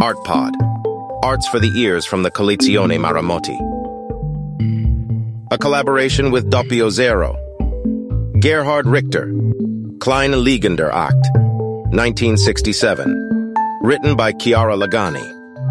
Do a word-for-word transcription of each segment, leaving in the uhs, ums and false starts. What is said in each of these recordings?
ArtPod. Arts for the Ears from the Collezione Maramotti. A collaboration with Doppio Zero. Gerhard Richter. Kleine Liegender Act. nineteen sixty-seven. Written by Chiara Lagani.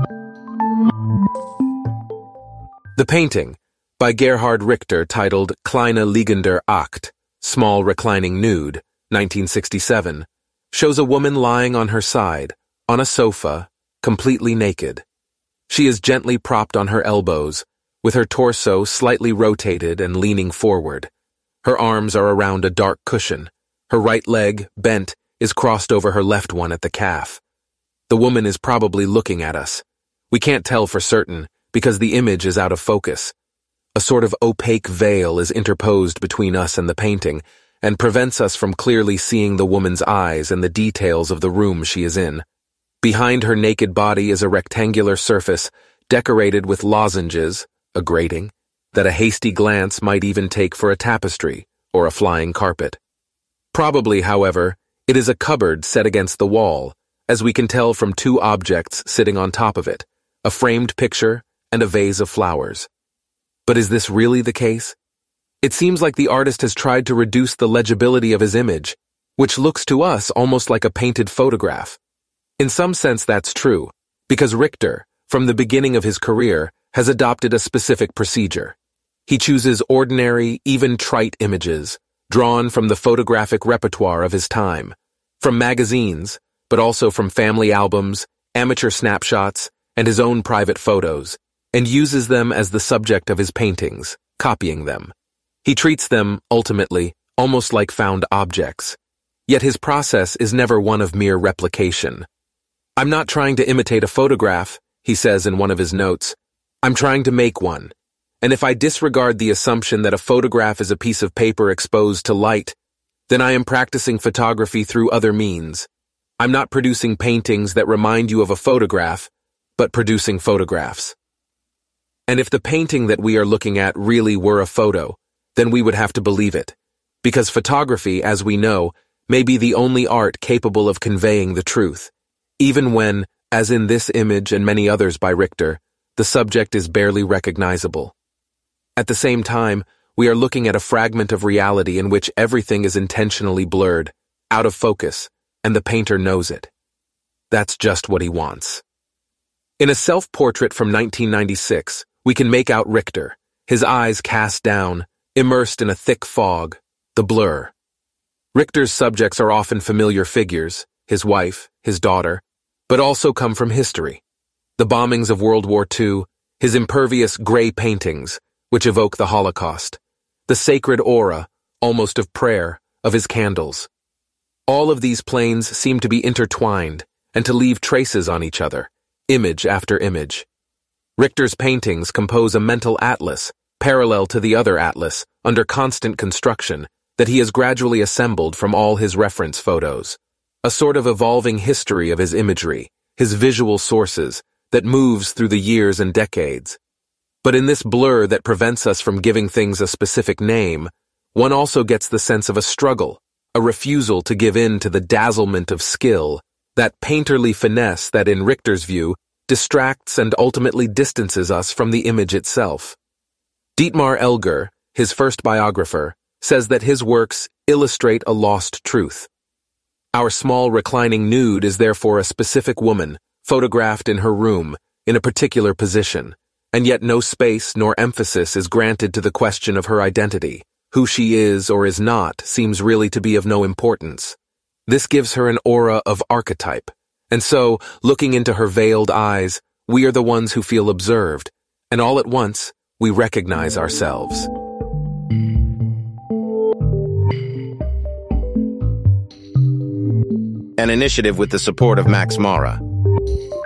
The painting, by Gerhard Richter, titled Kleine Liegender Act, Small Reclining Nude, nineteen sixty-seven, shows a woman lying on her side, on a sofa, completely naked. She is gently propped on her elbows, with her torso slightly rotated and leaning forward. Her arms are around a dark cushion. Her right leg, bent, is crossed over her left one at the calf. The woman is probably looking at us. We can't tell for certain, because the image is out of focus. A sort of opaque veil is interposed between us and the painting, and prevents us from clearly seeing the woman's eyes and the details of the room she is in. Behind her naked body is a rectangular surface, decorated with lozenges, a grating, that a hasty glance might even take for a tapestry or a flying carpet. Probably, however, it is a cupboard set against the wall, as we can tell from two objects sitting on top of it, a framed picture and a vase of flowers. But is this really the case? It seems like the artist has tried to reduce the legibility of his image, which looks to us almost like a painted photograph. In some sense that's true, because Richter, from the beginning of his career, has adopted a specific procedure. He chooses ordinary, even trite images, drawn from the photographic repertoire of his time, from magazines, but also from family albums, amateur snapshots, and his own private photos, and uses them as the subject of his paintings, copying them. He treats them, ultimately, almost like found objects. Yet his process is never one of mere replication. "I'm not trying to imitate a photograph," he says in one of his notes. "I'm trying to make one. And if I disregard the assumption that a photograph is a piece of paper exposed to light, then I am practicing photography through other means. I'm not producing paintings that remind you of a photograph, but producing photographs." And if the painting that we are looking at really were a photo, then we would have to believe it, because photography, as we know, may be the only art capable of conveying the truth, even when, as in this image and many others by Richter, the subject is barely recognizable. At the same time, we are looking at a fragment of reality in which everything is intentionally blurred, out of focus, and the painter knows it. That's just what he wants. In a self-portrait from nineteen ninety-six, we can make out Richter, his eyes cast down, immersed in a thick fog, the blur. Richter's subjects are often familiar figures, his wife, his daughter, but also come from history. The bombings of World War Two, his impervious gray paintings, which evoke the Holocaust, the sacred aura, almost of prayer, of his candles. All of these planes seem to be intertwined and to leave traces on each other, image after image. Richter's paintings compose a mental atlas, parallel to the other atlas, under constant construction, that he has gradually assembled from all his reference photos. A sort of evolving history of his imagery, his visual sources, that moves through the years and decades. But in this blur that prevents us from giving things a specific name, one also gets the sense of a struggle, a refusal to give in to the dazzlement of skill, that painterly finesse that, in Richter's view, distracts and ultimately distances us from the image itself. Dietmar Elger, his first biographer, says that his works illustrate a lost truth. Our small reclining nude is therefore a specific woman, photographed in her room, in a particular position, and yet no space nor emphasis is granted to the question of her identity. Who she is or is not seems really to be of no importance. This gives her an aura of archetype, and so, looking into her veiled eyes, we are the ones who feel observed, and all at once, we recognize ourselves. An initiative with the support of Max Mara.